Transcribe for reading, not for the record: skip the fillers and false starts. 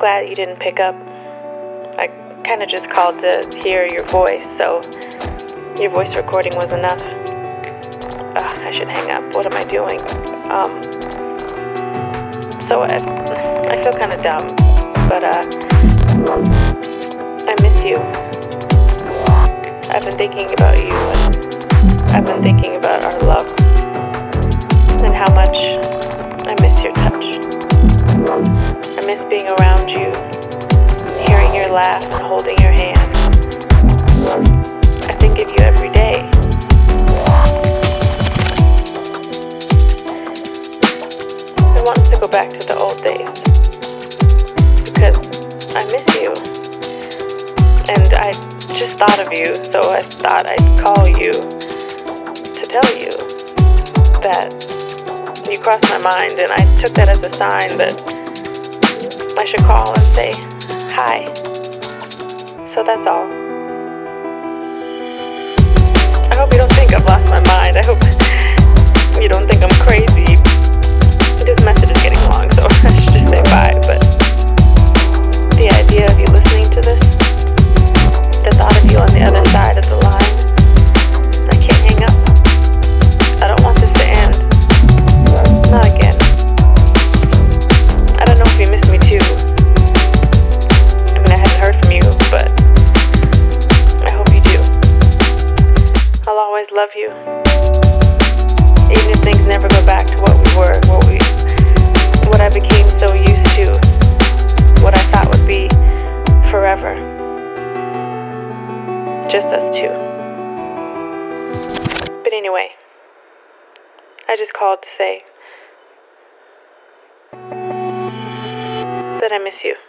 glad you didn't pick up. I kind of just called to hear your voice, so your voice recording was enough. I should hang up. What am I doing? So I feel kind of dumb, but I miss you. I've been thinking about you, and I've been thinking about our love, and how much I miss your touch. I miss being around you, hearing your laugh and holding your hand. I think of you every day. I want us to go back to the old days, because I miss you, and I just thought of you, so I thought I'd call you to tell you that you crossed my mind, and I took that as a sign that I should call and say hi. So that's all. I hope you don't think I've lost my mind. I hope you don't think I'm crazy. This message is getting long, so I should just say bye. But the idea of you listening to this, the thought of you on the other side of the line, I can't hang up. I don't want this to end. Not again. I don't know if you miss me too. I mean, I haven't heard from you, but I hope you do. I'll always love you. Even if things never go back to what we were, what I became so used to, what I thought would be forever. Just us two. But anyway, I just called to say that I miss you.